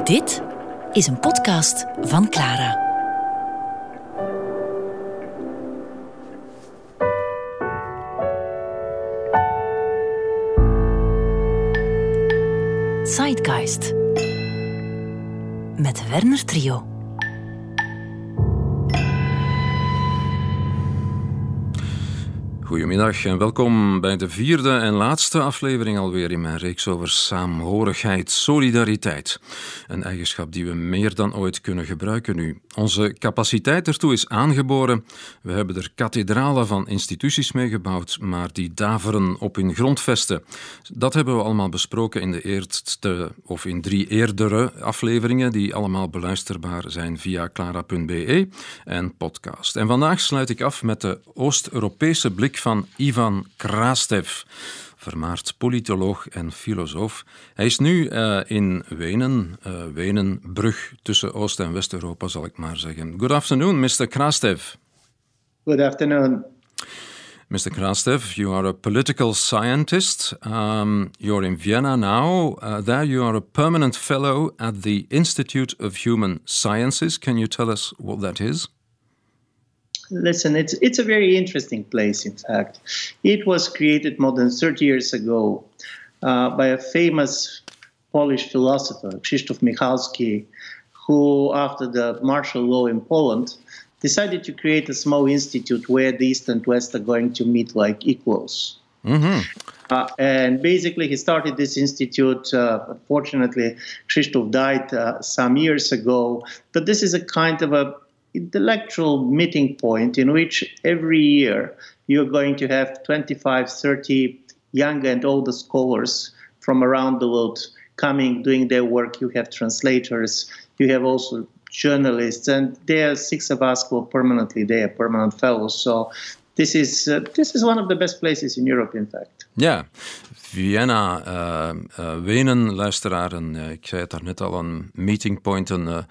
Dit is een podcast van Clara. Zeitgeist met Werner Trio. Goedemiddag en welkom bij de vierde en laatste aflevering alweer in mijn reeks over saamhorigheid, solidariteit. Een eigenschap die we meer dan ooit kunnen gebruiken nu. Onze capaciteit ertoe is aangeboren. We hebben er kathedralen van instituties mee gebouwd, maar die daveren op hun grondvesten. Dat hebben we allemaal besproken in de eerste of in 3 eerdere afleveringen, die allemaal beluisterbaar zijn via clara.be en podcast. En vandaag sluit ik af met de Oost-Europese blik van Ivan Krastev, vermaard politoloog en filosoof. Hij is nu in Wenen, Wenen, brug tussen Oost- en West-Europa, zal ik maar zeggen. Good afternoon, Mr. Krastev. Good afternoon. Mr. Krastev, you are a political scientist. You're in Vienna now. There you are a permanent fellow at the Institute of Human Sciences. Can you tell us what that is? Listen, it's a very interesting place, in fact. It was created more than 30 years ago by a famous Polish philosopher, Krzysztof Michalski, who, after the martial law in Poland, decided to create a small institute where the East and West are going to meet like equals. Mm-hmm. And basically, he started this institute. Unfortunately, Krzysztof died some years ago. But this is a kind of a intellectual meeting point in which every year you're going to have 25, 30 young and older scholars from around the world coming, doing their work. You have translators, you have also journalists, and there are 6 of us who are permanently there, permanent fellows. So this is one of the best places in Europe, in fact. Ja, Vienna, Wenen, luisteraren. Ik zei het daarnet al, een meeting point,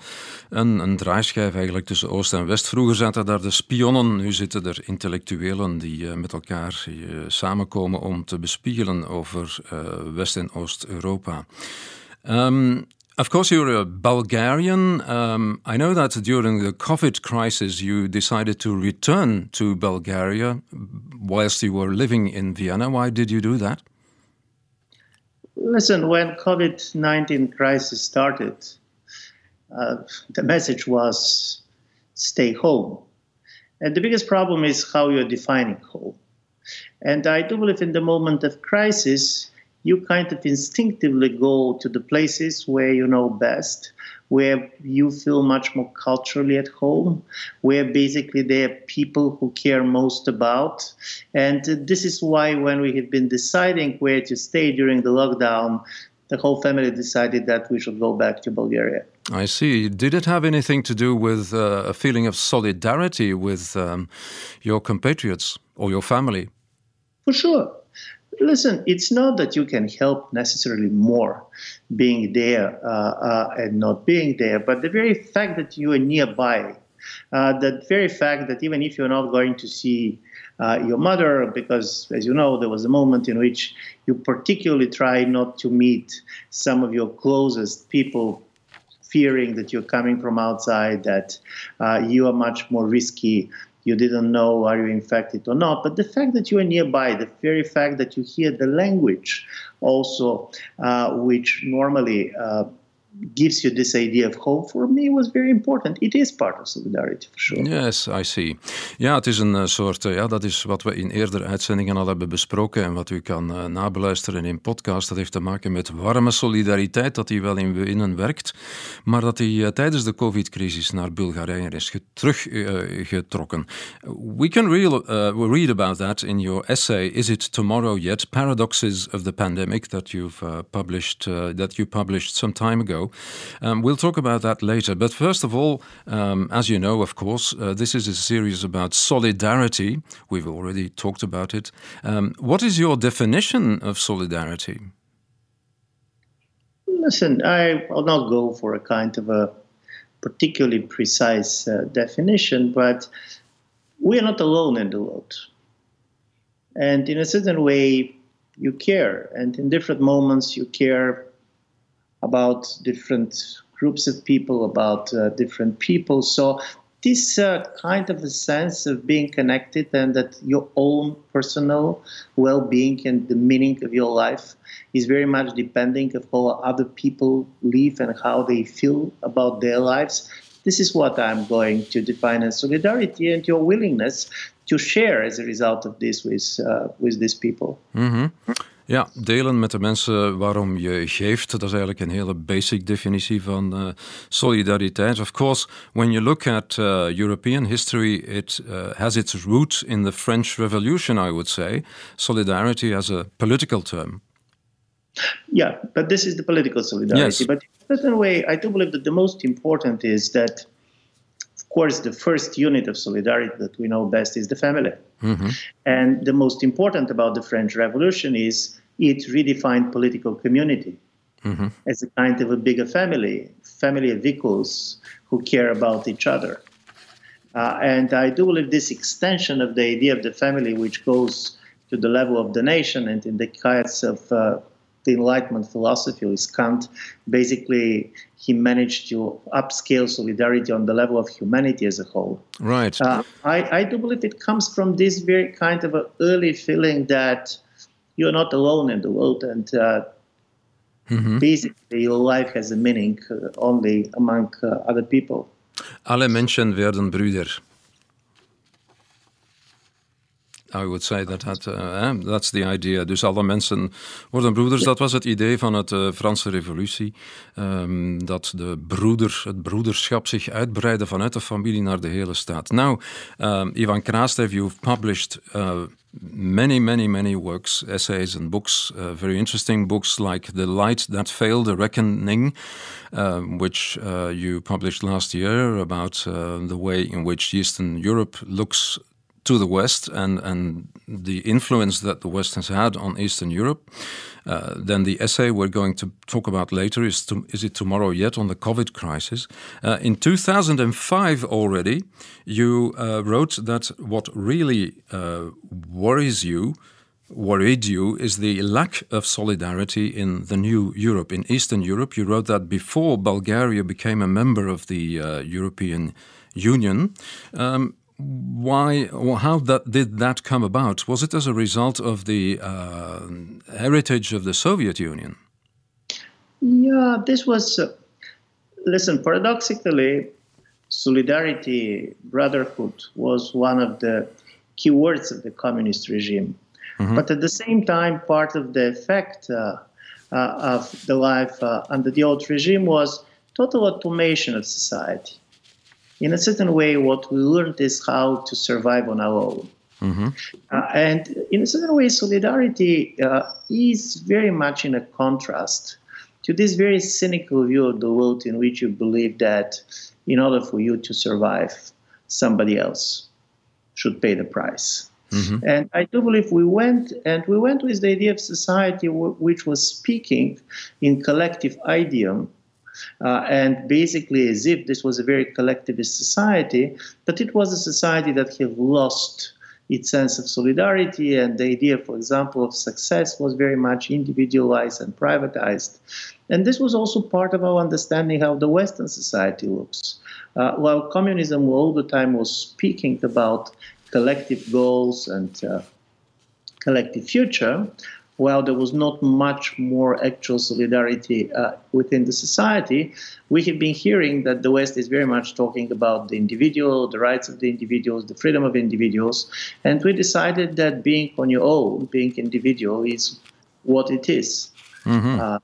een draaischijf eigenlijk tussen Oost en West. Vroeger zaten daar de spionnen, nu zitten er intellectuelen die met elkaar samenkomen om te bespiegelen over West- en Oost-Europa. Of course, you're a Bulgarian. I know that during the COVID crisis, you decided to return to Bulgaria whilst you were living in Vienna. Why did you do that? Listen, when COVID-19 crisis started, the message was stay home. And the biggest problem is how you're defining home. And I do believe in the moment of crisis, you kind of instinctively go to the places where you know best, where you feel much more culturally at home, where basically there are people who care most about. And this is why when we have been deciding where to stay during the lockdown, the whole family decided that we should go back to Bulgaria. I see. Did it have anything to do with a feeling of solidarity with your compatriots or your family? For sure. Listen, it's not that you can help necessarily more being there and not being there, but the very fact that you are nearby, the very fact that even if you're not going to see your mother, because as you know, there was a moment in which you particularly try not to meet some of your closest people, fearing that you're coming from outside, that you are much more risky. You didn't know are you infected or not, but the fact that you are nearby, the very fact that you hear the language also, which normally gives you this idea of hope, for me was very important. It is part of solidarity, for sure. Yes, I see. Ja, het is een soort, dat is wat we in eerdere uitzendingen al hebben besproken en wat u kan nabeluisteren in podcast. Dat heeft te maken met warme solidariteit, dat die wel in Wenen werkt, maar dat die tijdens de COVID-crisis naar Bulgarije is teruggetrokken. We can read about that in your essay, Is It Tomorrow Yet? Paradoxes of the Pandemic, that you've published some time ago. We'll talk about that later. But first of all, as you know, of course, this is a series about solidarity. We've already talked about it. What is your definition of solidarity? Listen, I'll not go for a kind of a particularly precise definition, but we are not alone in the world. And in a certain way, you care. And in different moments, you care about different groups of people, about different people. So this kind of a sense of being connected and that your own personal well-being and the meaning of your life is very much depending of how other people live and how they feel about their lives. This is what I'm going to define as solidarity and your willingness to share as a result of this with these people. Mm-hmm. Ja, delen met de mensen waarom je geeft. Dat is eigenlijk een hele basic definitie van solidariteit. Of course, when you look at European history, it has its roots in the French Revolution, I would say. Solidarity as a political term. Yeah, but this is the political solidarity. Yes. But in a certain way, I do believe that the most important is that, of course, the first unit of solidarity that we know best is the family. Mm-hmm. And the most important about the French Revolution is it redefined political community as a kind of a bigger family of equals who care about each other. And I do believe this extension of the idea of the family, which goes to the level of the nation and in the case of the Enlightenment philosophy is Kant. Basically, he managed to upscale solidarity on the level of humanity as a whole. Right. I do believe it comes from this very kind of an early feeling that you're not alone in the world and basically your life has a meaning only among other people. Alle Menschen werden Brüder. I would say that's the idea. Dus alle mensen worden broeders. Dat was het idee van de Franse Revolutie. Dat het broederschap zich uitbreidde vanuit de familie naar de hele staat. Now, Ivan Krastev, you've published many works, essays and books, very interesting books like The Light That Failed, The Reckoning, which you published last year about the way in which Eastern Europe looks to the West and the influence that the West has had on Eastern Europe. Then the essay we're going to talk about later is it tomorrow yet on the COVID crisis. In 2005 already, you wrote that what really worried you is the lack of solidarity in the new Europe, in Eastern Europe. You wrote that before Bulgaria became a member of the European Union. How did that come about? Was it as a result of the heritage of the Soviet Union? Yeah, this was... listen, paradoxically, solidarity, brotherhood was one of the key words of the communist regime. Mm-hmm. But at the same time, part of the effect of the life under the old regime was total automation of society. In a certain way, what we learned is how to survive on our own. Mm-hmm. And in a certain way, solidarity is very much in a contrast to this very cynical view of the world in which you believe that in order for you to survive, somebody else should pay the price. Mm-hmm. And I do believe we went with the idea of society which was speaking in collective idiom, and basically as if this was a very collectivist society, but it was a society that had lost its sense of solidarity, and the idea, for example, of success was very much individualized and privatized. And this was also part of our understanding how the Western society looks. While communism all the time was speaking about collective goals and collective future, while there was not much more actual solidarity within the society, we have been hearing that the West is very much talking about the individual, the rights of the individuals, the freedom of individuals, and we decided that being on your own, being individual, is what it is. Mm-hmm.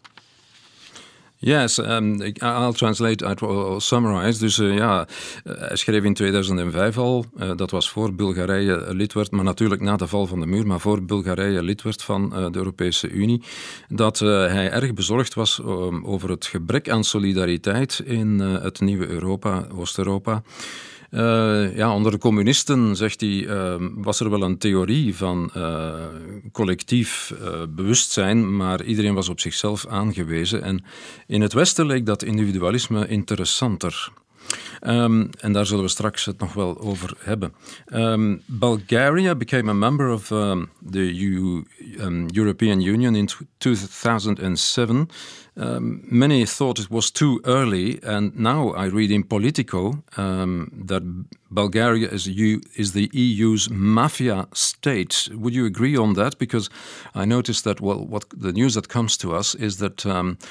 Yes, I'll translate, I'll summarize. Dus hij schreef in 2005 al, dat was voor Bulgarije lid werd, maar natuurlijk na de val van de muur, maar voor Bulgarije lid werd van de Europese Unie, dat hij erg bezorgd was over het gebrek aan solidariteit in het nieuwe Europa, Oost-Europa. Onder de communisten, zegt hij, was er wel een theorie van collectief bewustzijn, maar iedereen was op zichzelf aangewezen. En in het Westen leek dat individualisme interessanter. En daar zullen we straks het nog wel over hebben. Bulgaria became a member of the European Union in 2007. Many thought it was too early, and now I read in Politico that Bulgaria is the EU's mafia state. Would you agree on that? Because I noticed that, what the news that comes to us is that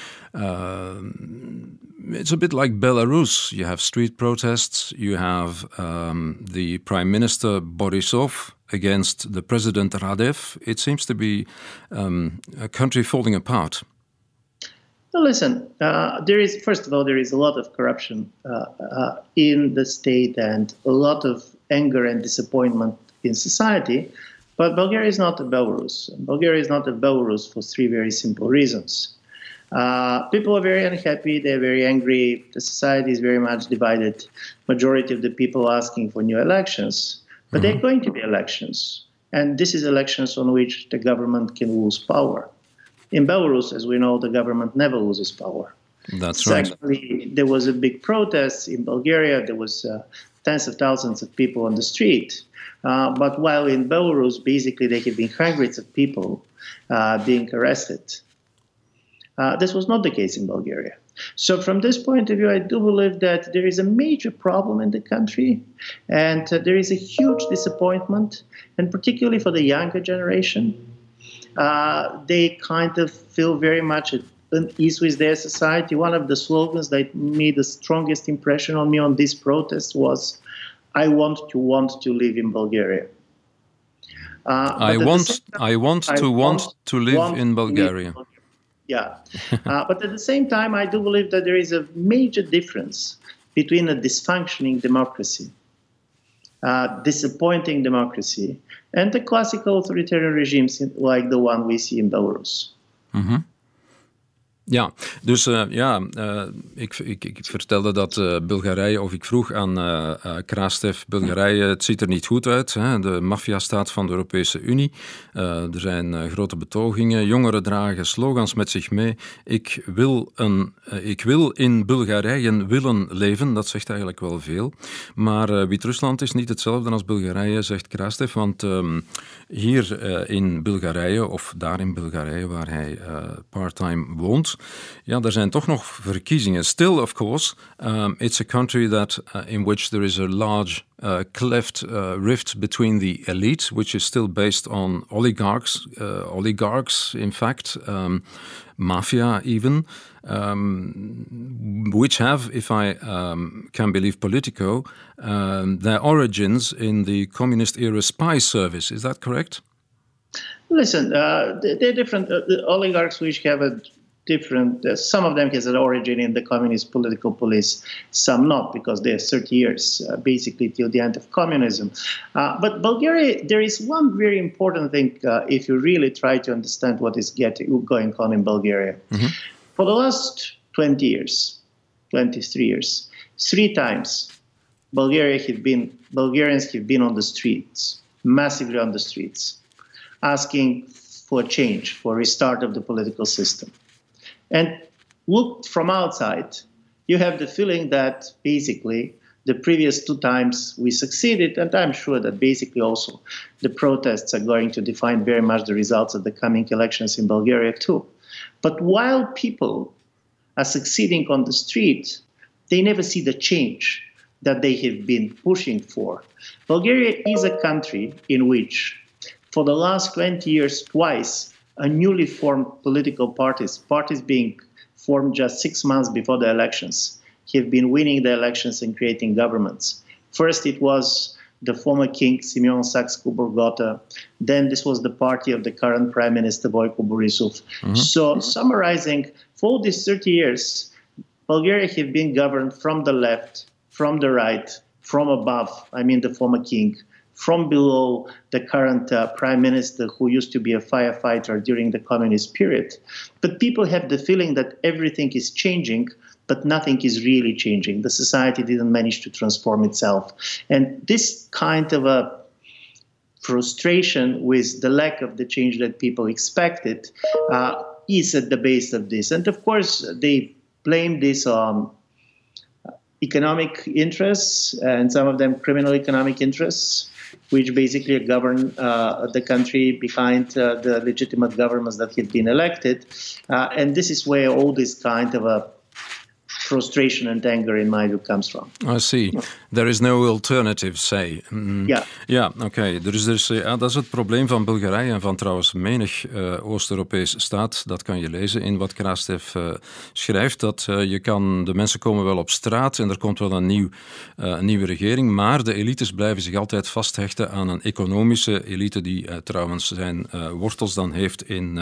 it's a bit like Belarus. You have street protests, you have the Prime Minister Borisov against the President Radev. It seems to be a country falling apart. Well, listen, first of all, there is a lot of corruption in the state and a lot of anger and disappointment in society. But Bulgaria is not a Belarus. Bulgaria is not a Belarus for three very simple reasons. People are very unhappy, they're very angry, the society is very much divided. Majority of the people asking for new elections, but they're going to be elections. And this is elections on which the government can lose power. In Belarus, as we know, the government never loses power. That's right. Actually, there was a big protest in Bulgaria. There was tens of thousands of people on the street. But while in Belarus, basically, there have been hundreds of people being arrested. This was not the case in Bulgaria. So from this point of view, I do believe that there is a major problem in the country, and there is a huge disappointment, and particularly for the younger generation. They kind of feel very much at ease with their society. One of the slogans that made the strongest impression on me on this protest was, I want to live in Bulgaria. I want to live in Bulgaria. Yeah. But at the same time, I do believe that there is a major difference between a dysfunctioning democracy, disappointing democracy, and the classical authoritarian regimes like the one we see in Belarus. Mm-hmm. Ja, dus ik vertelde dat Bulgarije, of ik vroeg aan Krastev, Bulgarije, het ziet er niet goed uit. Hè? De maffiastaat van de Europese Unie. Er zijn grote betogingen. Jongeren dragen slogans met zich mee. Ik wil in Bulgarije willen leven. Dat zegt eigenlijk wel veel. Maar Wit-Rusland is niet hetzelfde als Bulgarije, zegt Krastev. Want hier in Bulgarije, of daar in Bulgarije, waar hij part-time woont, ja, er zijn toch nog verkiezingen. Still, of course, it's a country in which there is a large rift between the elite, which is still based on oligarchs, in fact, mafia even, which have, if I can believe Politico, their origins in the communist-era spy service. Is that correct? Listen, they're different. The oligarchs which have a different, some of them has an origin in the communist political police, some not, because they're 30 years, basically till the end of communism. But Bulgaria, there is one very important thing if you really try to understand what is going on in Bulgaria. Mm-hmm. For the last 23 years, 3 times Bulgarians have been on the streets, massively on the streets, asking for a change, for a restart of the political system. And looked from outside, you have the feeling that basically the previous 2 times we succeeded, and I'm sure that basically also the protests are going to define very much the results of the coming elections in Bulgaria too. But while people are succeeding on the street, they never see the change that they have been pushing for. Bulgaria is a country in which, for the last 20 years, twice, a newly formed political parties being formed just 6 months before the elections, have been winning the elections and creating governments. First, it was the former king, Simeon Saxe-Coburg-Gotha. Then this was the party of the current prime minister, Boyko Borisov. Mm-hmm. So, summarizing, for all these 30 years, Bulgaria have been governed from the left, from the right, from above, I mean the former king, from below the current prime minister who used to be a firefighter during the communist period. But people have the feeling that everything is changing, but nothing is really changing. The society didn't manage to transform itself. And this kind of a frustration with the lack of the change that people expected is at the base of this. And of course, they blame this on economic interests, and some of them criminal economic interests, which basically govern the country behind the legitimate governments that had been elected. And this is where all this kind of a frustration and anger, in my view, comes from. I see. There is no alternative, say. Ja. Ja, oké. Dus dat is het probleem van Bulgarije en van trouwens menig Oost-Europees staat. Dat kan je lezen in wat Krastev schrijft. Dat de mensen komen wel op straat en er komt wel een nieuwe regering. Maar de elites blijven zich altijd vasthechten aan een economische elite die trouwens zijn wortels dan heeft in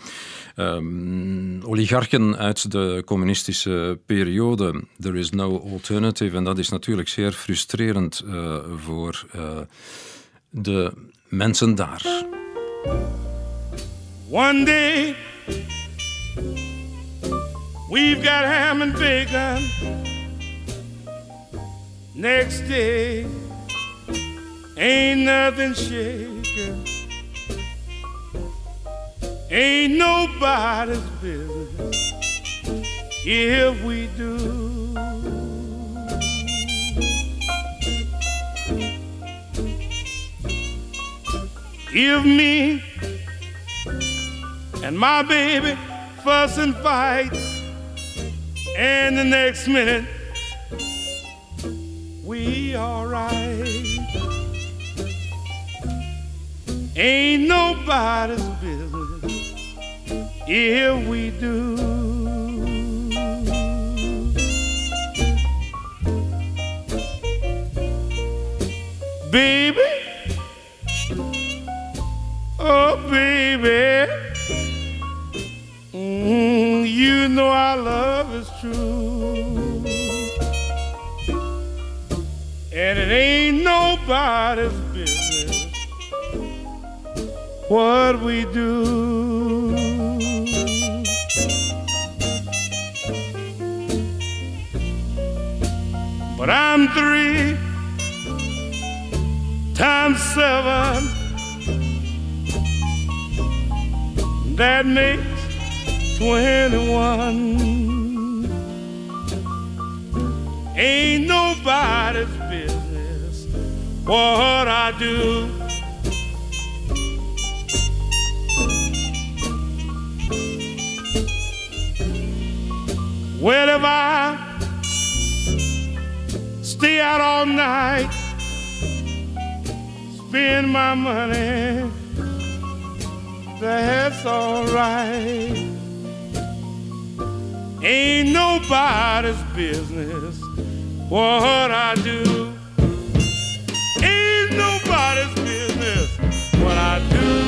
oligarchen uit de communistische periode. There is no alternative. En dat is natuurlijk zeer frustrerend voor de mensen daar. One day we've got ham and bacon. Next day ain't nothing shaking. Ain't nobody's business if we do. If me and my baby fuss and fight, and the next minute we alright, ain't nobody's business if we do. Baby, oh baby, you know our love is true, and it ain't nobody's business what we do. But I'm 3 times 7, that makes 21. Ain't nobody's business what I do. Well, if I stay out all night, spend my money, that's alright. Ain't nobody's business what I do. Ain't nobody's business what I do.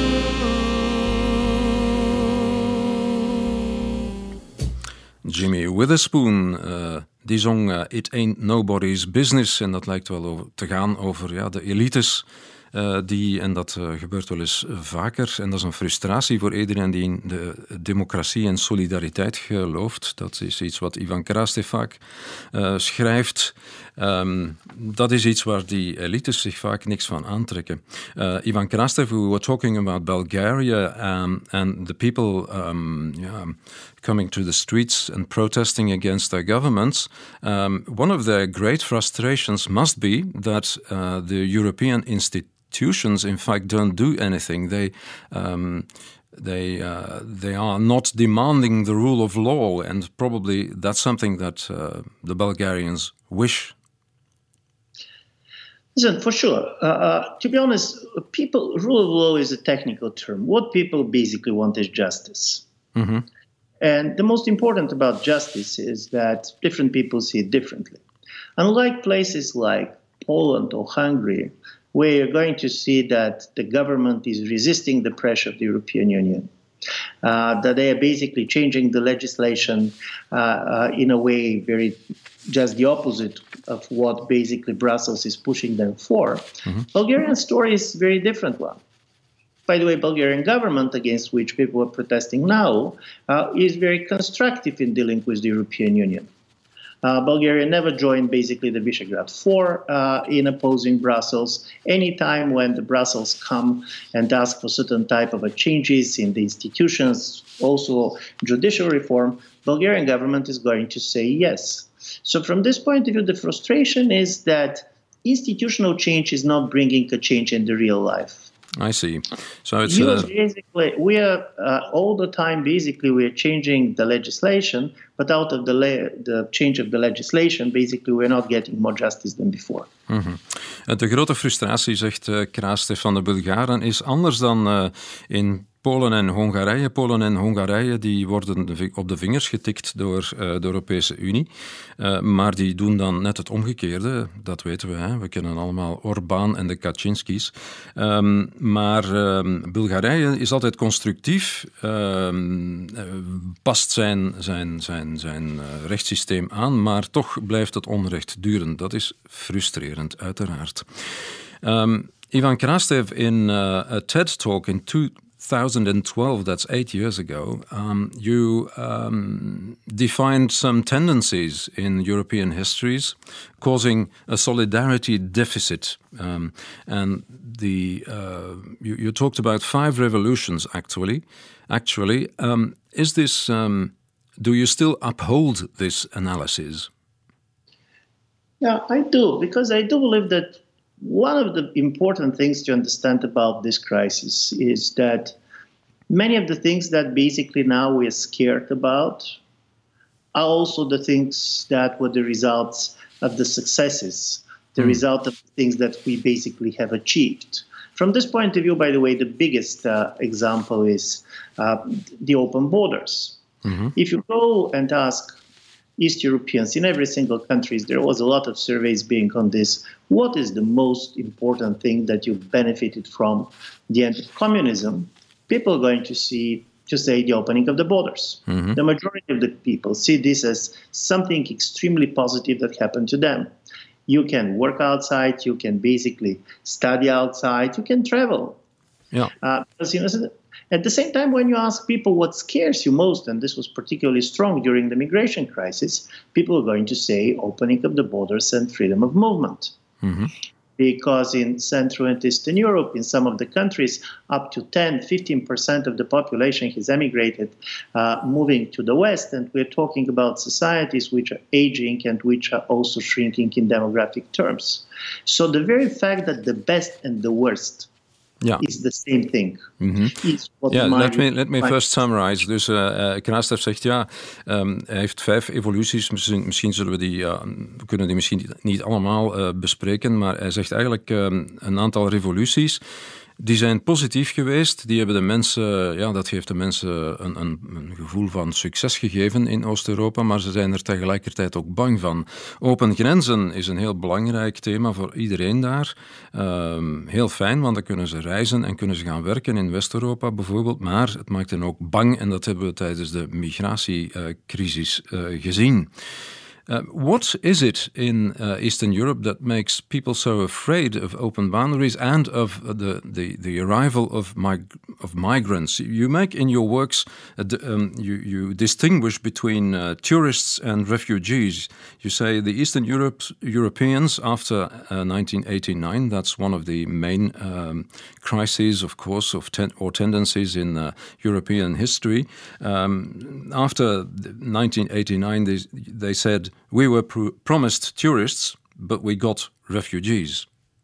Jimmy Witherspoon, die zong It Ain't Nobody's Business. En dat lijkt wel te gaan over de elites. En dat gebeurt wel eens vaker. En dat is een frustratie voor iedereen die in de democratie en solidariteit gelooft. Dat is iets wat Ivan Krastev vaak schrijft. Dat is iets waar die elites zich vaak niks van aantrekken. Ivan Krastev, we were talking about Bulgaria and the people coming to the streets and protesting against their governments. One of their great frustrations must be that the European institutions, in fact, don't do anything. They are not demanding the rule of law, and probably that's something that the Bulgarians wish. Listen, for sure. To be honest, rule of law is a technical term. What people basically want is justice. Mm-hmm. And the most important about justice is that different people see it differently. Unlike places like Poland or Hungary, where you're going to see that the government is resisting the pressure of the European Union, that they are basically changing the legislation in a way very just the opposite of what basically Brussels is pushing them for. Mm-hmm. Bulgarian story is a very different one. By the way, Bulgarian government, against which people are protesting now, is very constructive in dealing with the European Union. Bulgaria never joined basically the Visegrad Four in opposing Brussels. Anytime when the Brussels come and ask for certain type of changes in the institutions, also judicial reform, Bulgarian government is going to say yes. So from this point of view, the frustration is that institutional change is not bringing a change in the real life. I see. So it's basically, we are all the time. Basically, we are changing the legislation, but out of the change of the legislation, basically, we're not getting more justice than before. Mm-hmm. De grote frustratie, zegt Krastev, van de Bulgaren is anders dan in Polen en Hongarije. Polen en Hongarije die worden op de vingers getikt door de Europese Unie. Maar die doen dan net het omgekeerde. Dat weten we. Hè? We kennen allemaal Orbán en de Kaczynskis. Maar Bulgarije is altijd constructief. Past zijn rechtssysteem aan. Maar toch blijft het onrecht duren. Dat is frustrerend, uiteraard. Ivan Krastev in a TED-talk in 2012, that's 8 years ago, you defined some tendencies in European histories causing a solidarity deficit. And you talked about 5 revolutions, actually. Is this, do you still uphold this analysis? Yeah, I do, because I do believe that one of the important things to understand about this crisis is that many of the things that basically now we're scared about are also the things that were the results of the successes, the result of the things that we basically have achieved. From this point of view, by the way, the biggest example is the open borders. Mm-hmm. If you go and ask East Europeans in every single country, there was a lot of surveys being on this. What is the most important thing that you benefited from the end of communism? People are going to say the opening of the borders. Mm-hmm. The majority of the people see this as something extremely positive that happened to them. You can work outside, you can basically study outside, you can travel. Yeah. At the same time, when you ask people what scares you most, and this was particularly strong during the migration crisis, people are going to say opening up the borders and freedom of movement. Mm-hmm. Because in Central and Eastern Europe, in some of the countries, up to 10-15% of the population has emigrated, moving to the West. And we're talking about societies which are aging and which are also shrinking in demographic terms. So the very fact that the best and the worst is the same thing. Mm-hmm. Let me first summarize. Dus Krastev zegt hij heeft 5 evoluties. Misschien zullen we kunnen die misschien niet allemaal bespreken, maar hij zegt eigenlijk een aantal revoluties. Die zijn positief geweest. Die hebben de mensen, dat geeft de mensen een gevoel van succes gegeven in Oost-Europa, maar ze zijn er tegelijkertijd ook bang van. Open grenzen is een heel belangrijk thema voor iedereen daar. Heel fijn, want dan kunnen ze reizen en kunnen ze gaan werken in West-Europa bijvoorbeeld, maar het maakt hen ook bang en dat hebben we tijdens de migratiecrisis gezien. What is it in Eastern Europe that makes people so afraid of open boundaries and of the arrival of migrants? You make in your works, you distinguish between tourists and refugees. You say the Eastern Europeans after 1989, that's one of the main crises, of course, or tendencies in European history. After 1989, they said, we were promised tourists, but we got refugees.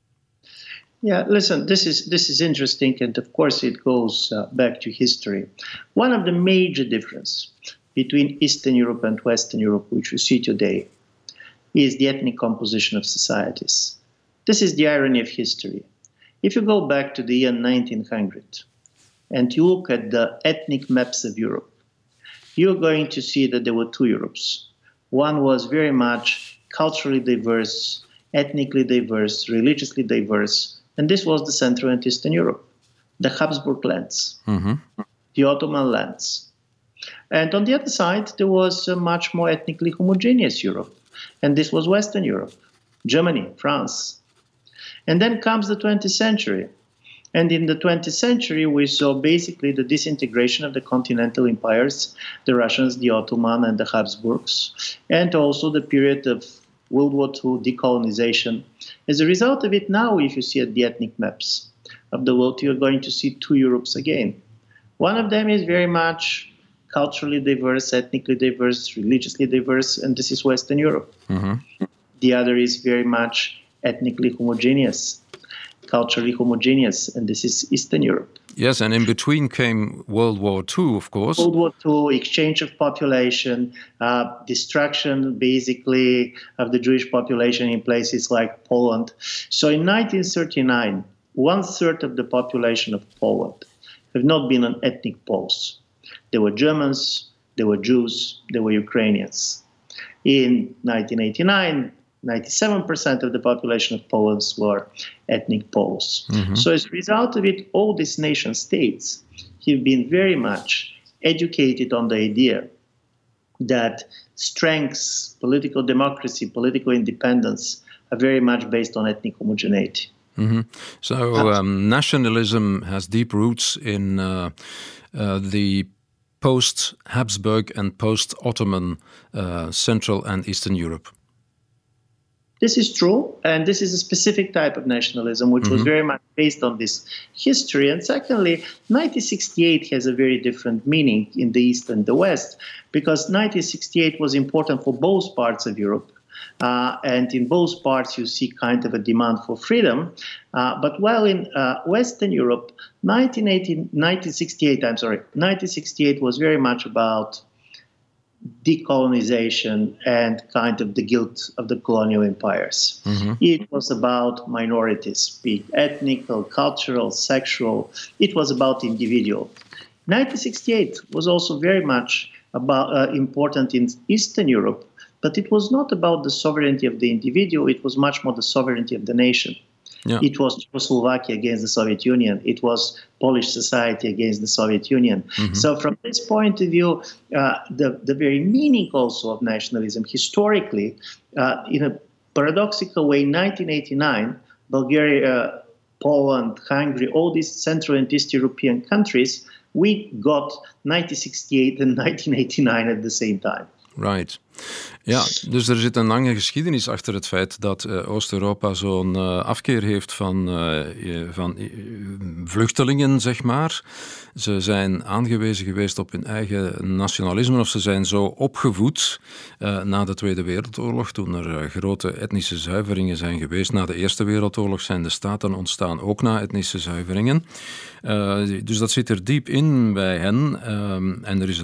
Yeah, listen, this is interesting, and of course it goes back to history. One of the major differences between Eastern Europe and Western Europe, which we see today, is the ethnic composition of societies. This is the irony of history. If you go back to the year 1900 and you look at the ethnic maps of Europe, you're going to see that there were 2 Europes. One was very much culturally diverse, ethnically diverse, religiously diverse, and this was the Central and Eastern Europe, the Habsburg lands, the Ottoman lands. And on the other side, there was a much more ethnically homogeneous Europe, and this was Western Europe, Germany, France. And then comes the 20th century. And in the 20th century, we saw basically the disintegration of the continental empires, the Russians, the Ottoman, and the Habsburgs, and also the period of World War II decolonization. As a result of it, now, if you see at the ethnic maps of the world, you're going to see 2 Europes again. One of them is very much culturally diverse, ethnically diverse, religiously diverse, and this is Western Europe. The other is very much ethnically homogeneous, culturally homogeneous, and this is Eastern Europe. Yes, and in between came World War II, of course. World War II, exchange of population, destruction, basically, of the Jewish population in places like Poland. So in 1939, 1/3 of the population of Poland have not been on ethnic Poles. There were Germans, there were Jews, there were Ukrainians. In 1989, 97% of the population of Poland were ethnic Poles. So as a result of it, all these nation states have been very much educated on the idea that strengths, political democracy, political independence are very much based on ethnic homogeneity. So nationalism has deep roots in the post-Habsburg and post-Ottoman Central and Eastern Europe. This is true, and this is a specific type of nationalism which was very much based on this history. And secondly, 1968 has a very different meaning in the East and the West, because 1968 was important for both parts of Europe. And in both parts, you see kind of a demand for freedom. But while in Western Europe, 1968 was very much about decolonization and kind of the guilt of the colonial empires. It was about minorities, be it ethnic, cultural, sexual. It was about individual. 1968 was also very much about important in Eastern Europe, but it was not about the sovereignty of the individual. It was much more the sovereignty of the nation. Yeah. It was Czechoslovakia against the Soviet Union. It was Polish society against the Soviet Union. So from this point of view, the very meaning also of nationalism historically, in a paradoxical way, 1989, Bulgaria, Poland, Hungary, all these Central and East European countries, we got 1968 and 1989 at the same time. Right. Ja, dus er zit een lange geschiedenis achter het feit dat Oost-Europa zo'n afkeer heeft van vluchtelingen, zeg maar. Ze zijn aangewezen geweest op hun eigen nationalisme, of ze zijn zo opgevoed na de Tweede Wereldoorlog, toen er grote etnische zuiveringen zijn geweest. Na de Eerste Wereldoorlog zijn de staten ontstaan, ook na etnische zuiveringen. Dus dat zit er diep in bij hen. En er is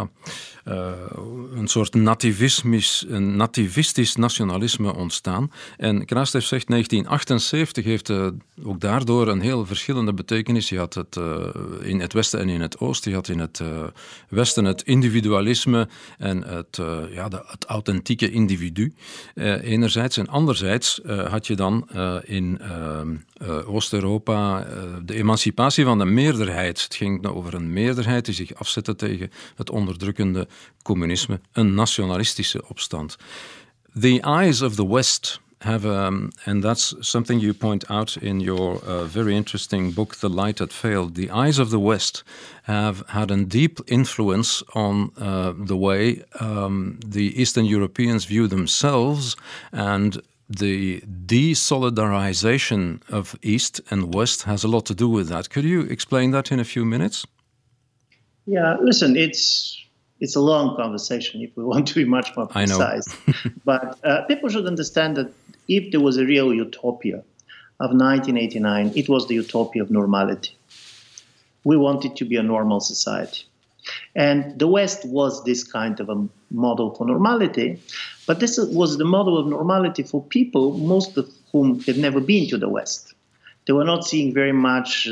een soort nativistisch nationalisme ontstaan. En Krastev zegt 1978 heeft ook daardoor een heel verschillende betekenis. Je had het in het Westen en in het Oosten. Je had in het Westen het individualisme en het authentieke individu enerzijds. En anderzijds had je dan in Oost-Europa de emancipatie van de meerderheid. Het ging over een meerderheid die zich afzette tegen het onderdrukkende communisme, een nationalistische opstand. The eyes of the West have, and that's something you point out in your very interesting book, The Light That Failed. The eyes of the West have had a deep influence on the way the Eastern Europeans view themselves, and the desolidarization of East and West has a lot to do with that. Could you explain that in a few minutes? Yeah, listen, it's a long conversation if we want to be much more precise. But people should understand that if there was a real utopia of 1989, it was the utopia of normality. We wanted to be a normal society. And the West was this kind of a model for normality, but this was the model of normality for people, most of whom had never been to the West. They were not seeing very much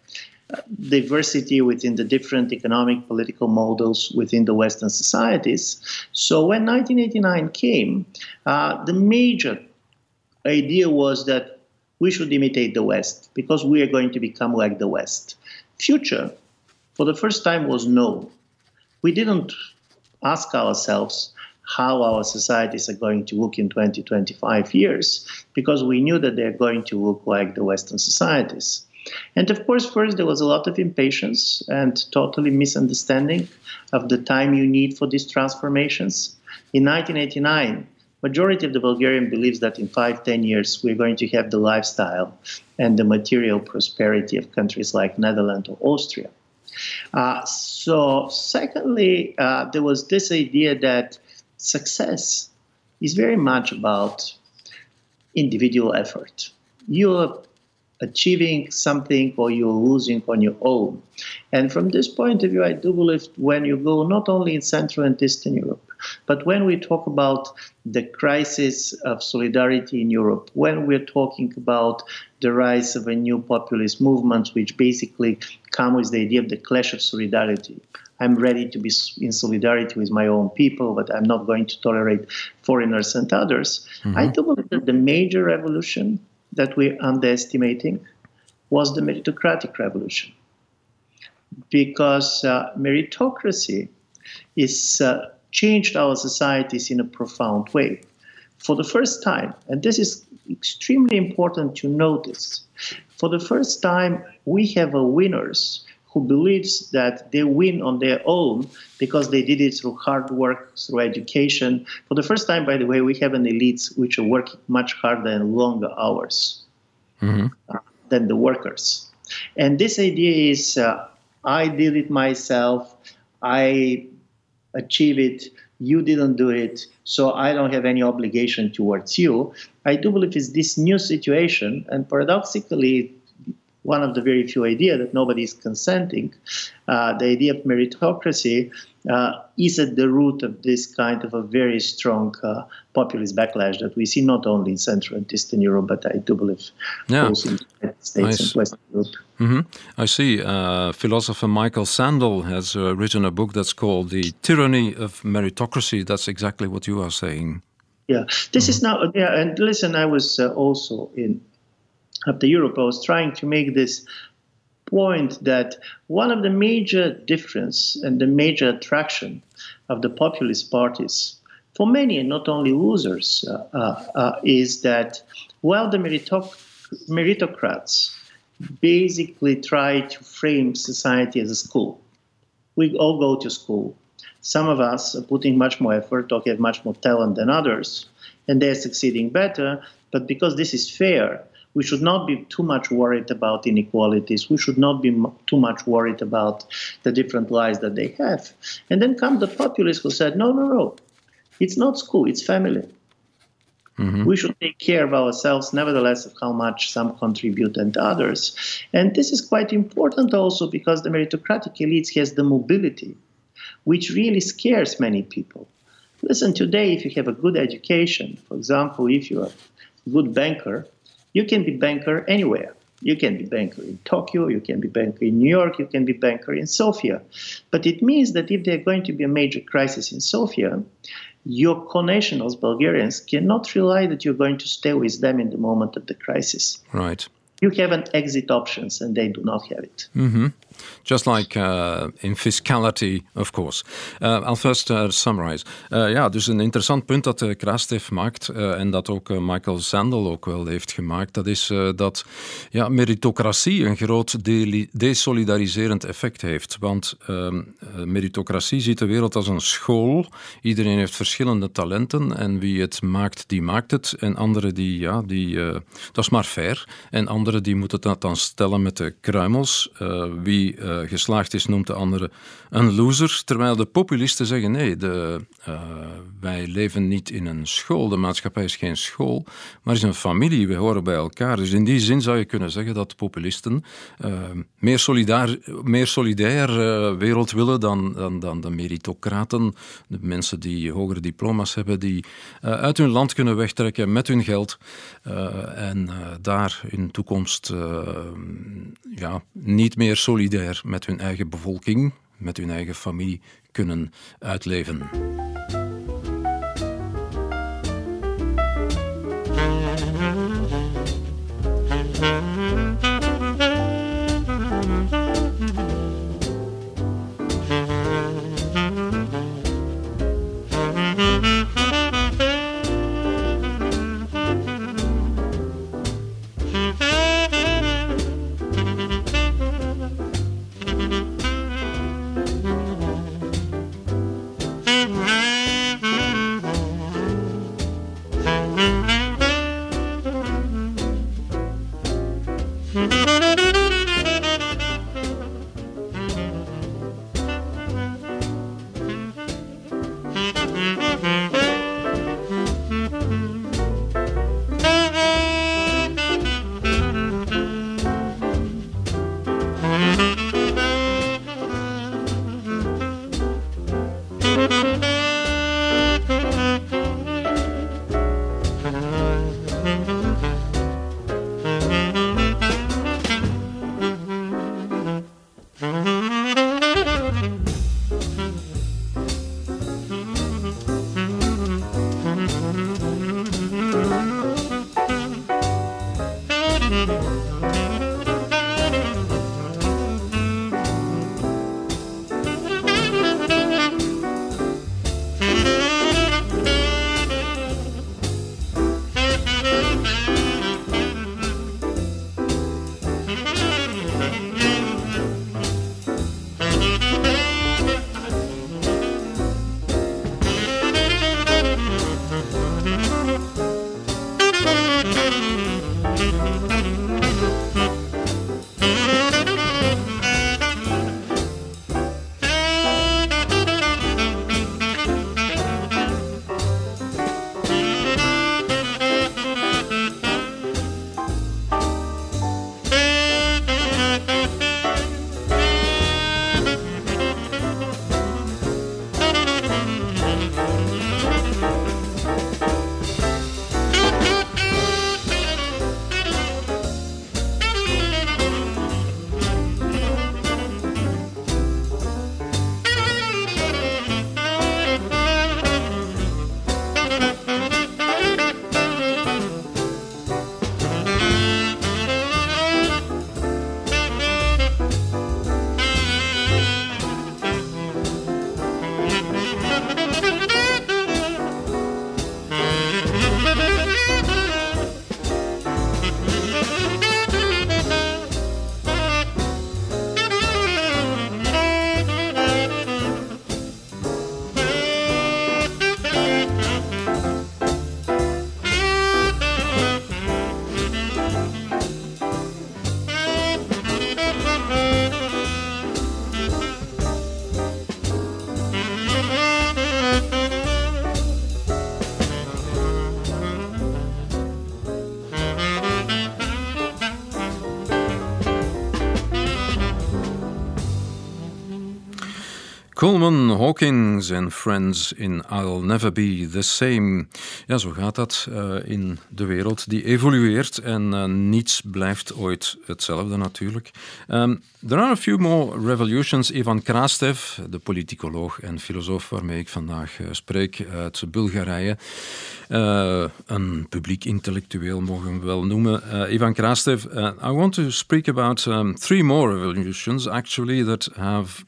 diversity within the different economic, political models within the Western societies. So when 1989 came, the major idea was that we should imitate the West because we are going to become like the West. Future, for the first time, was no. We didn't ask ourselves how our societies are going to look in 20, 25 years because we knew that they're going to look like the Western societies. And of course, first there was a lot of impatience and totally misunderstanding of the time you need for these transformations. In 1989, majority of the Bulgarian believes that in 5-10 years we're going to have the lifestyle and the material prosperity of countries like Netherlands or Austria. So secondly, there was this idea that success is very much about individual effort. You're achieving something or you're losing on your own. And from this point of view, I do believe when you go not only in Central and Eastern Europe, but when we talk about the crisis of solidarity in Europe, when we're talking about the rise of a new populist movement, which basically come with the idea of the clash of solidarity. I'm ready to be in solidarity with my own people, but I'm not going to tolerate foreigners and others. Mm-hmm. I do believe that the major revolution that we're underestimating was the meritocratic revolution. Because meritocracy is changed our societies in a profound way. For the first time, and this is extremely important to notice, for the first time we have a winners who believes that they win on their own because they did it through hard work, through education. For the first time, by the way, we have an elites which are working much harder and longer hours than the workers. And this idea is, I did it myself, I achieved it, you didn't do it, so I don't have any obligation towards you. I do believe it's this new situation, and paradoxically, one of the very few ideas that nobody is consenting, the idea of meritocracy is at the root of this kind of a very strong populist backlash that we see not only in Central and Eastern Europe, but I do believe also in the United States and Western Europe. Mm-hmm. I see. Philosopher Michael Sandel has written a book that's called The Tyranny of Meritocracy. That's exactly what you are saying. Yeah, this is now, and listen, I was also in After Europe, I was trying to make this point that one of the major difference and the major attraction of the populist parties, for many and not only losers, is that while the meritocrats basically try to frame society as a school, we all go to school. Some of us are putting much more effort or have much more talent than others, and they're succeeding better, but because this is fair, we should not be too much worried about inequalities. We should not be too much worried about the different lives that they have. And then come the populists who said, no, it's not school, it's family. Mm-hmm. We should take care of ourselves, nevertheless, of how much some contribute and others. And this is quite important also because the meritocratic elites has the mobility, which really scares many people. Listen, today, if you have a good education, for example, if you're a good banker, you can be banker anywhere. You can be banker in Tokyo, you can be banker in New York, you can be banker in Sofia. But it means that if there's going to be a major crisis in Sofia, your connationals, Bulgarians, cannot rely that you're going to stay with them in the moment of the crisis. Right. You have an exit options, and they do not have it. Mm-hmm. Just like in fiscality, of course. I'll first summarize. Dus een interessant punt dat Krastev maakt en dat ook Michael Sandel ook wel heeft gemaakt, dat is dat meritocratie een groot desolidariserend effect heeft. Want meritocratie ziet de wereld als een school. Iedereen heeft verschillende talenten en wie het maakt, die maakt het. En anderen dat is maar fair. En anderen die moeten dat dan stellen met de kruimels. Wie geslaagd is, noemt de andere een loser. Terwijl de populisten zeggen, nee, wij leven niet in een school. De maatschappij is geen school, maar is een familie. We horen bij elkaar. Dus in die zin zou je kunnen zeggen dat populisten meer solidair wereld willen dan de meritocraten. De mensen die hogere diploma's hebben, die uit hun land kunnen wegtrekken met hun geld en daar in toekomst niet meer solidair met hun eigen bevolking, met hun eigen familie kunnen uitleven. Mm-hmm. Coleman Hawkins en Friends in I'll Never Be the Same. Ja, zo gaat dat in de wereld die evolueert en niets blijft ooit hetzelfde natuurlijk. There are a few more revolutions. Ivan Krastev, de politicoloog en filosoof waarmee ik vandaag spreek uit Bulgarije. Een publiek intellectueel mogen we wel noemen. Ivan Krastev, I want to speak about 3 more revolutions actually that have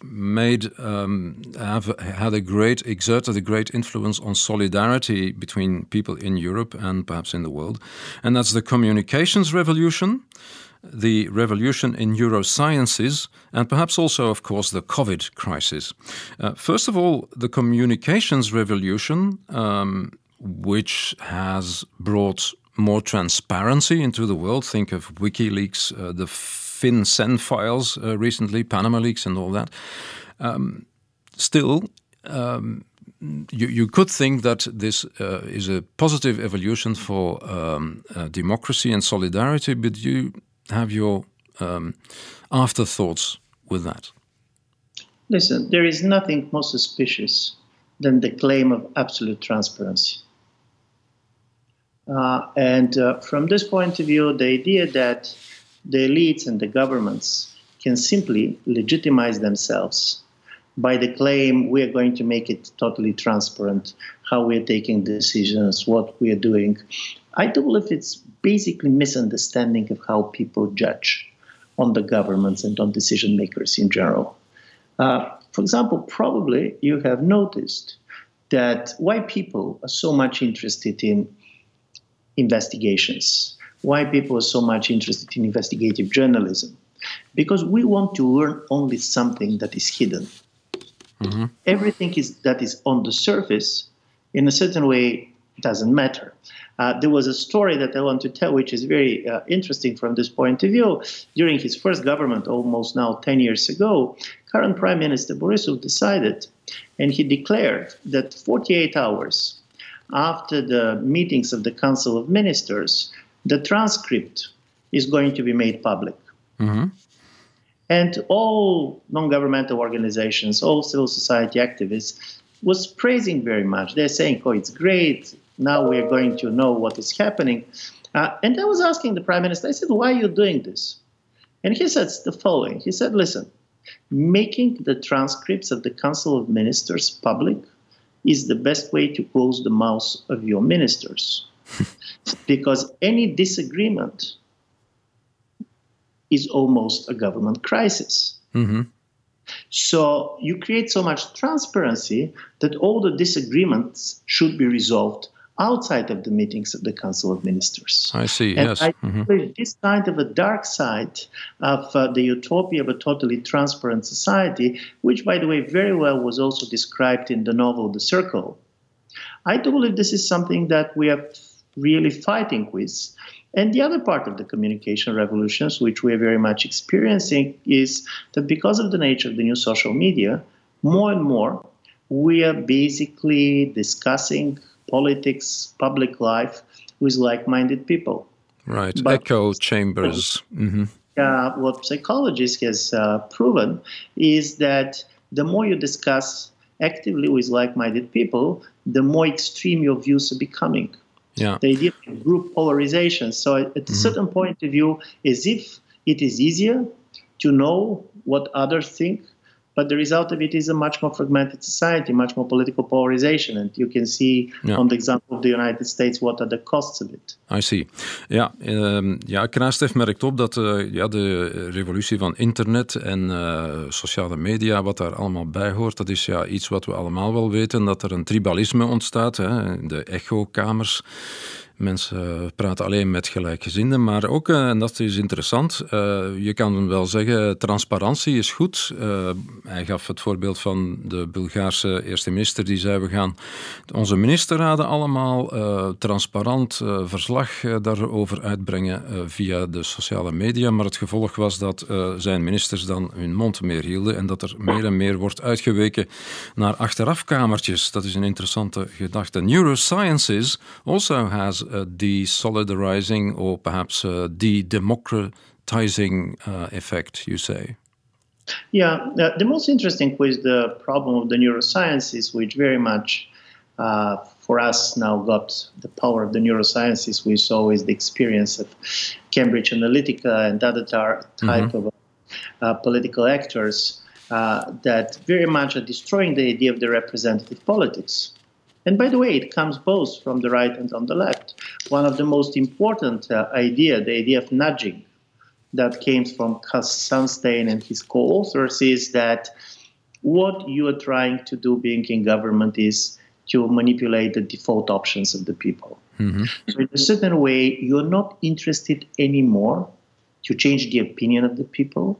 exerted a great influence on solidarity between people in Europe and perhaps in the world. And that's the communications revolution, the revolution in neurosciences, and perhaps also, of course, the COVID crisis. First of all, the communications revolution, which has brought more transparency into the world. Think of WikiLeaks, the FinCEN files recently, Panama Leaks and all that. Still, you could think that this is a positive evolution for democracy and solidarity, but you have your afterthoughts with that. Listen, there is nothing more suspicious than the claim of absolute transparency. From this point of view, the idea that the elites and the governments can simply legitimize themselves by the claim we are going to make it totally transparent, how we are taking decisions, what we are doing. I do believe it's basically misunderstanding of how people judge on the governments and on decision makers in general. For example, probably you have noticed that why people are so much interested in investigations, why people are so much interested in investigative journalism, because we want to learn only something that is hidden. Mm-hmm. Everything that is on the surface, in a certain way, doesn't matter. There was a story that I want to tell, which is very interesting from this point of view. During his first government, almost now 10 years ago, current Prime Minister Borisov decided, and he declared that 48 hours after the meetings of the Council of Ministers, the transcript is going to be made public. Mm-hmm. And all non-governmental organizations, all civil society activists was praising very much. They're saying, oh, it's great. Now we're going to know what is happening. And I was asking the Prime Minister, I said, why are you doing this? And he said the following. He said, listen, making the transcripts of the Council of Ministers public is the best way to close the mouths of your ministers. Because any disagreement is almost a government crisis. Mm-hmm. So you create so much transparency that all the disagreements should be resolved outside of the meetings of the Council of Ministers. I see, and yes. I think this kind of a dark side of the utopia of a totally transparent society, which, by the way, very well was also described in the novel The Circle. I do believe this is something that we are really fighting with. And the other part of the communication revolutions, which we are very much experiencing, is that because of the nature of the new social media, more and more we are basically discussing politics, public life with like-minded people. Right, but echo chambers. Mm-hmm. What psychologists has proven is that the more you discuss actively with like-minded people, the more extreme your views are becoming. Yeah. The idea of group polarization. So at a certain point of view, as if it is easier to know what others think, but the result of it is a much more fragmented society, much more political polarization. And you can see on the example of the United States, what are the costs of it. I see. Ja, Krastev merkt op dat de revolutie van internet en sociale media, wat daar allemaal bij hoort, dat is iets wat we allemaal wel weten, dat er een tribalisme ontstaat, hè, de echokamers. Mensen praten alleen met gelijkgezinden, maar ook, en dat is interessant, je kan wel zeggen, transparantie is goed. Hij gaf het voorbeeld van de Bulgaarse eerste minister, die zei, we gaan onze ministerraden allemaal transparant verslag daarover uitbrengen via de sociale media, maar het gevolg was dat zijn ministers dan hun mond meer hielden en dat er meer en meer wordt uitgeweken naar achterafkamertjes. Dat is een interessante gedachte. Neurosciences also has de-solidarizing or perhaps de-democratizing effect, you say? Yeah, the most interesting was the problem of the neurosciences, which very much for us now got the power of the neurosciences. We saw is the experience of Cambridge Analytica and other type of political actors that very much are destroying the idea of the representative politics. And by the way, it comes both from the right and on the left. One of the most important the idea of nudging, that came from Sunstein and his co-authors, is that what you are trying to do being in government is to manipulate the default options of the people. Mm-hmm. So in a certain way, you're not interested anymore to change the opinion of the people.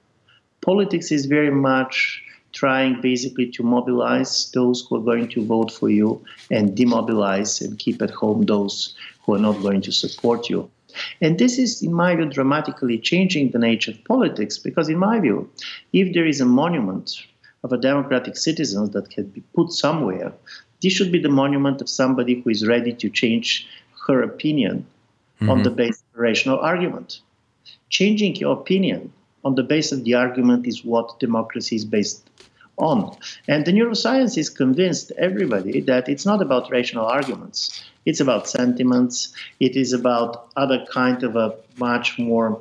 Politics is very much trying basically to mobilize those who are going to vote for you and demobilize and keep at home those who are not going to support you. And this is, in my view, dramatically changing the nature of politics, because in my view, if there is a monument of a democratic citizen that can be put somewhere, this should be the monument of somebody who is ready to change her opinion on the basis of a rational argument. Changing your opinion on the basis of the argument is what democracy is based on. And the neuroscience convinced everybody that it's not about rational arguments. It's about sentiments. It is about other kind of a much more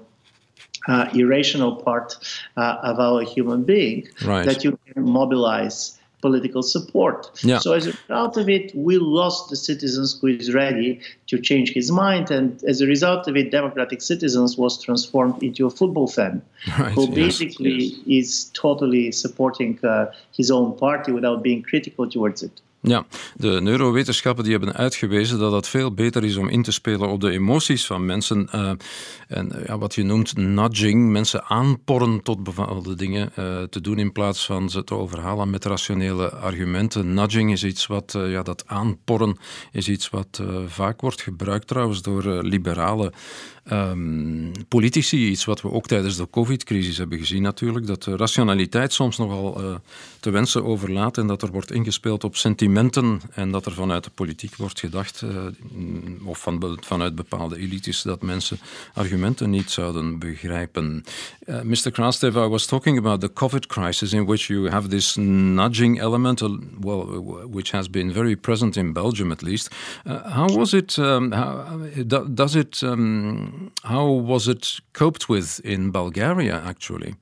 irrational part of our human being, right, that you can mobilize political support. Yeah. So as a result of it, we lost the citizens who is ready to change his mind. And as a result of it, democratic citizens was transformed into a football fan, right, who basically is totally supporting his own party without being critical towards it. Ja, de neurowetenschappen die hebben uitgewezen dat het veel beter is om in te spelen op de emoties van mensen. En wat je noemt nudging, mensen aanporren tot bepaalde dingen te doen in plaats van ze te overhalen met rationele argumenten. Nudging is iets wat, dat aanporren is iets wat vaak wordt gebruikt trouwens door liberale politici. Iets wat we ook tijdens de COVID-crisis hebben gezien natuurlijk. Dat de rationaliteit soms nogal te wensen overlaat en dat er wordt ingespeeld op sentimenten en dat er vanuit de politiek wordt gedacht of vanuit bepaalde elites dat mensen argumenten niet zouden begrijpen. Mr. Krastev, I was talking about the COVID crisis in which you have this nudging element, which has been very present in Belgium at least. How was it? How was it coped with in Bulgaria, actually?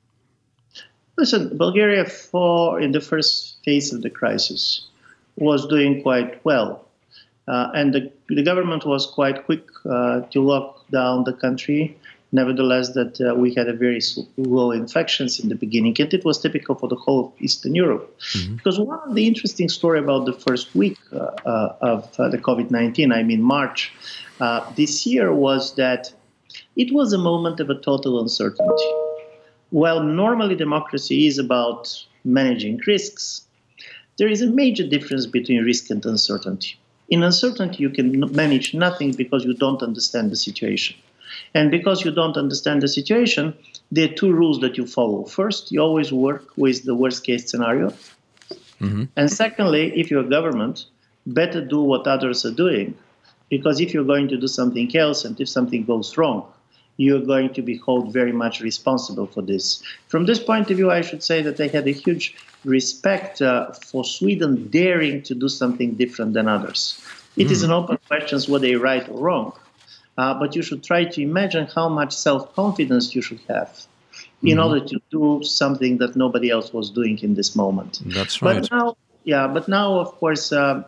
Listen, Bulgaria, in the first phase of the crisis, was doing quite well. And the government was quite quick to lock down the country. Nevertheless, that we had a very low infections in the beginning, and it was typical for the whole of Eastern Europe. Mm-hmm. Because one of the interesting story about the first week of the COVID-19, I mean March, this year was that it was a moment of a total uncertainty. While normally democracy is about managing risks, there is a major difference between risk and uncertainty. In uncertainty, you can manage nothing because you don't understand the situation. And because you don't understand the situation, there are two rules that you follow. First, you always work with the worst case scenario. Mm-hmm. And secondly, if you're a government, better do what others are doing. Because if you're going to do something else and if something goes wrong, you're going to be held very much responsible for this. From this point of view, I should say that I had a huge respect for Sweden daring to do something different than others. It is an open question whether they're right or wrong. But you should try to imagine how much self-confidence you should have in order to do something that nobody else was doing in this moment. That's right. But now, of course,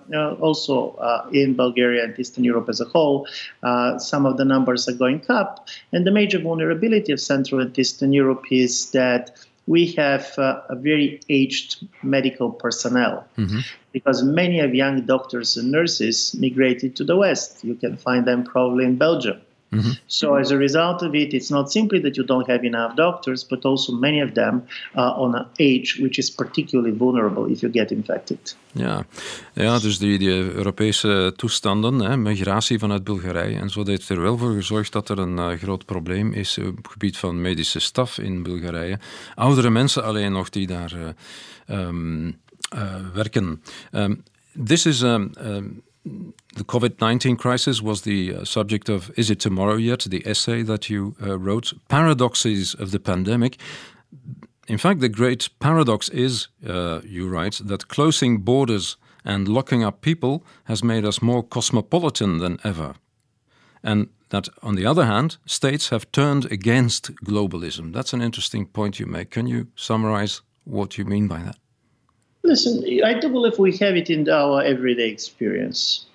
also in Bulgaria and Eastern Europe as a whole, some of the numbers are going up. And the major vulnerability of Central and Eastern Europe is that we have a very aged medical personnel, because many of young doctors and nurses migrated to the West. You can find them probably in Belgium. Mm-hmm. So as a result of it, it's not simply that you don't have enough doctors, but also many of them are on an age which is particularly vulnerable if you get infected. Ja, dus die Europese toestanden, migratie vanuit Bulgarije en zo, dat heeft er wel voor gezorgd dat er een groot probleem is op het gebied van medische staf in Bulgarije. Oudere mensen alleen nog die daar werken. This is the COVID-19 crisis was the subject of Is It Tomorrow Yet, the essay that you wrote, Paradoxes of the Pandemic. In fact, the great paradox is, you write, that closing borders and locking up people has made us more cosmopolitan than ever. And that, on the other hand, states have turned against globalism. That's an interesting point you make. Can you summarize what you mean by that? Listen, I do believe we have it in our everyday experience.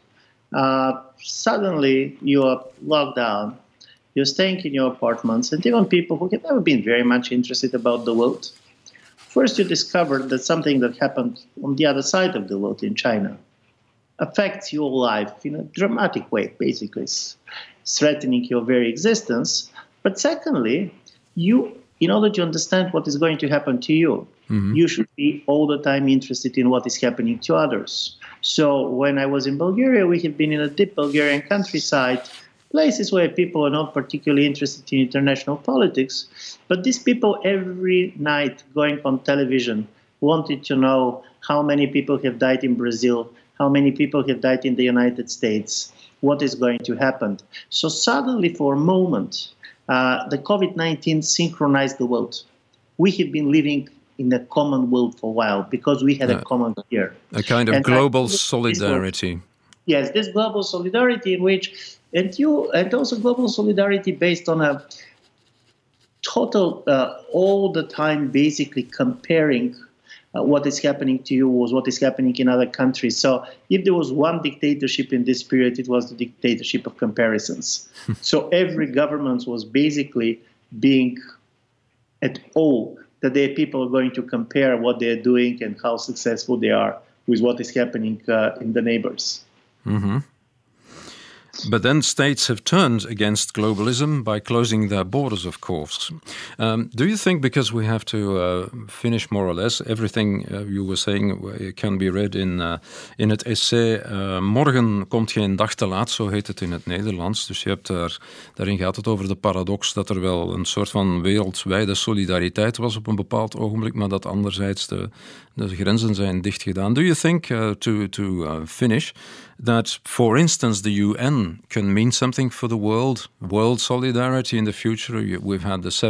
Suddenly, you are locked down, you're staying in your apartments, and even people who have never been very much interested about the world. First, you discovered that something that happened on the other side of the world in China affects your life in a dramatic way, basically. It's threatening your very existence. But secondly, in order to understand what is going to happen to you, you should be all the time interested in what is happening to others. So when I was in Bulgaria, we have been in a deep Bulgarian countryside, places where people are not particularly interested in international politics, but these people every night going on television wanted to know how many people have died in Brazil, how many people have died in the United States, what is going to happen. So suddenly, for a moment, the COVID-19 synchronized the world. We have been living in a common world for a while because we had a common fear. A kind of global solidarity. Yes, this global solidarity in which, and also global solidarity based on a total, all the time basically comparing what is happening to you was what is happening in other countries. So if there was one dictatorship in this period, it was the dictatorship of comparisons. So every government was basically being at awe that their people are going to compare what they're doing and how successful they are with what is happening in the neighbors. Mm-hmm. But then states have turned against globalism by closing their borders, of course. Do you think, because we have to finish more or less, everything you were saying can be read in het essay Morgen komt geen dag te laat, zo heet het in het Nederlands. Dus je hebt daarin gaat het over de paradox dat er wel een soort van wereldwijde solidariteit was op een bepaald ogenblik, maar dat anderzijds de grenzen zijn dichtgedaan. Do you think, to finish, that, for instance, the UN can mean something for the world solidarity in the future? We've had the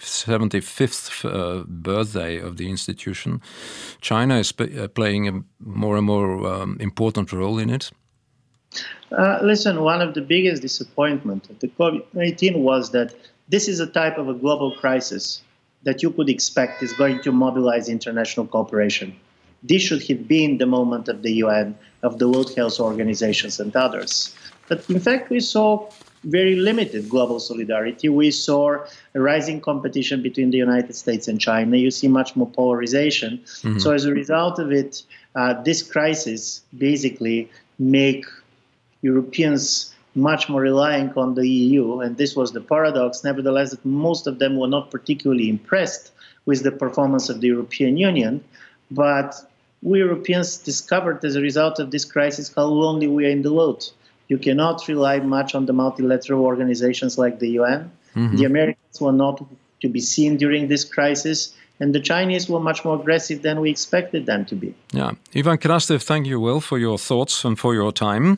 75th birthday of the institution. China is playing a more and more important role in it. Listen, one of the biggest disappointments of the COVID-19 was that this is a type of a global crisis that you could expect is going to mobilize international cooperation. This should have been the moment of the UN, of the World Health Organizations and others. But in fact, we saw very limited global solidarity. We saw a rising competition between the United States and China. You see much more polarization. Mm-hmm. So as a result of it, this crisis basically make Europeans much more reliant on the EU. And this was the paradox. Nevertheless, that most of them were not particularly impressed with the performance of the European Union. But we Europeans discovered as a result of this crisis how lonely we are in the world. You cannot rely much on the multilateral organizations like the UN. Mm-hmm. The Americans were not to be seen during this crisis, and the Chinese were much more aggressive than we expected them to be. Yeah. Ivan Krastev, thank you well for your thoughts and for your time.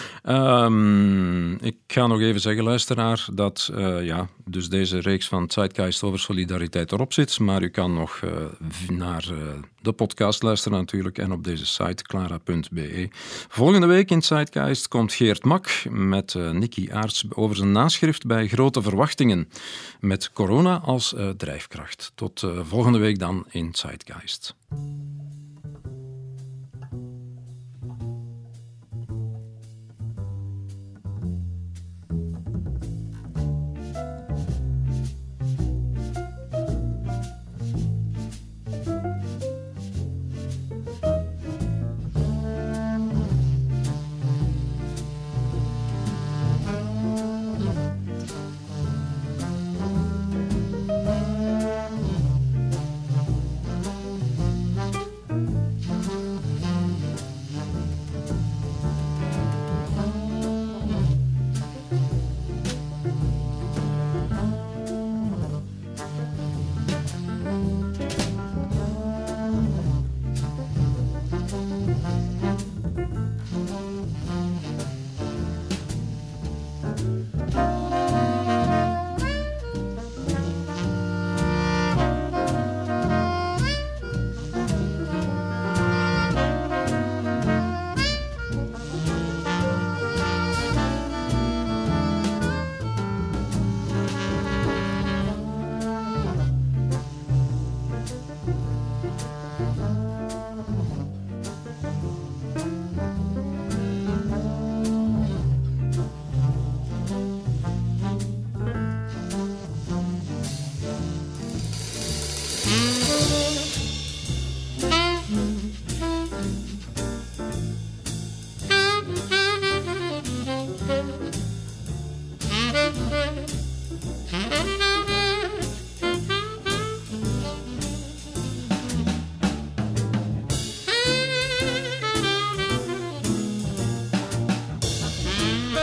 Ik ga nog even zeggen, luisteraar, dat dus deze reeks van Zeitgeist over solidariteit erop zit. Maar u kan nog naar de podcast luisteren natuurlijk en op deze site, clara.be. Volgende week in Zeitgeist komt Geert Mak met Nicky Aarts over zijn naschrift bij Grote Verwachtingen. Met corona als drijfkracht. Tot volgende week dan in Zeitgeist.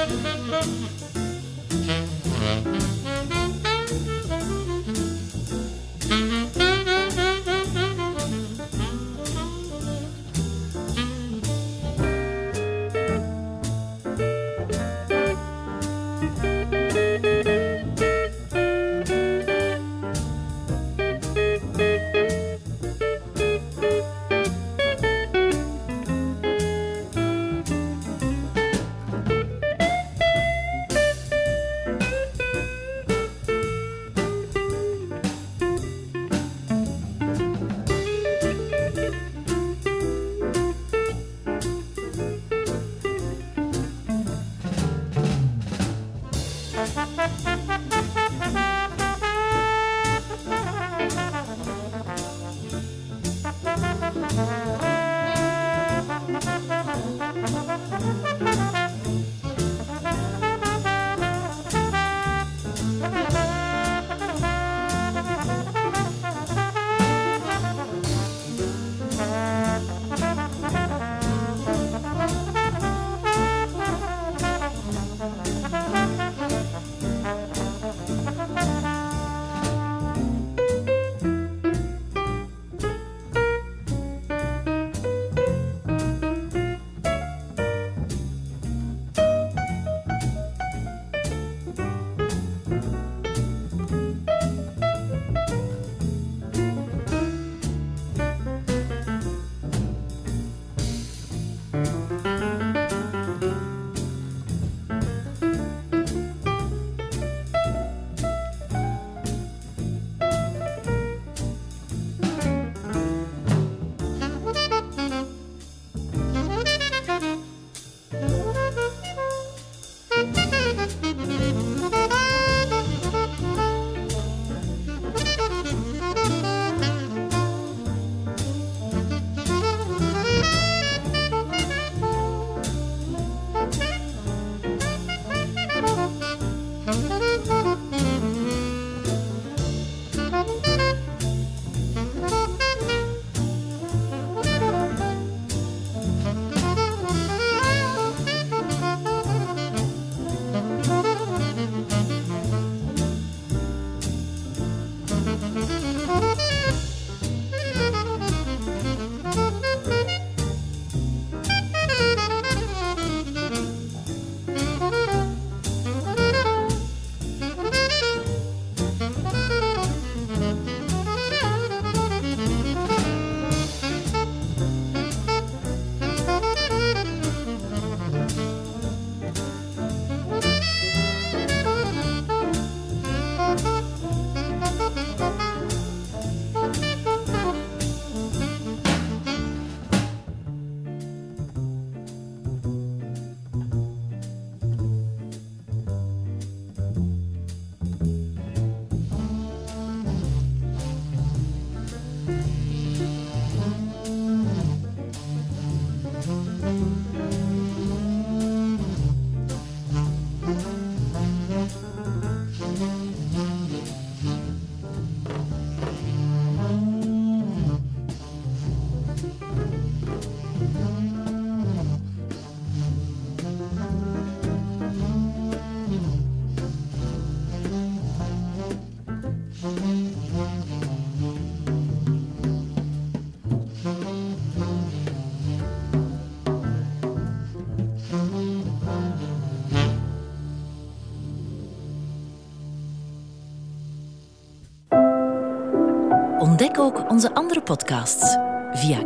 Ontdek ook onze andere podcasts via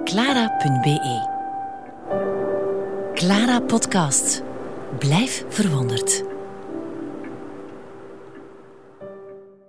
clara.be. Clara Podcast. Blijf verwonderd.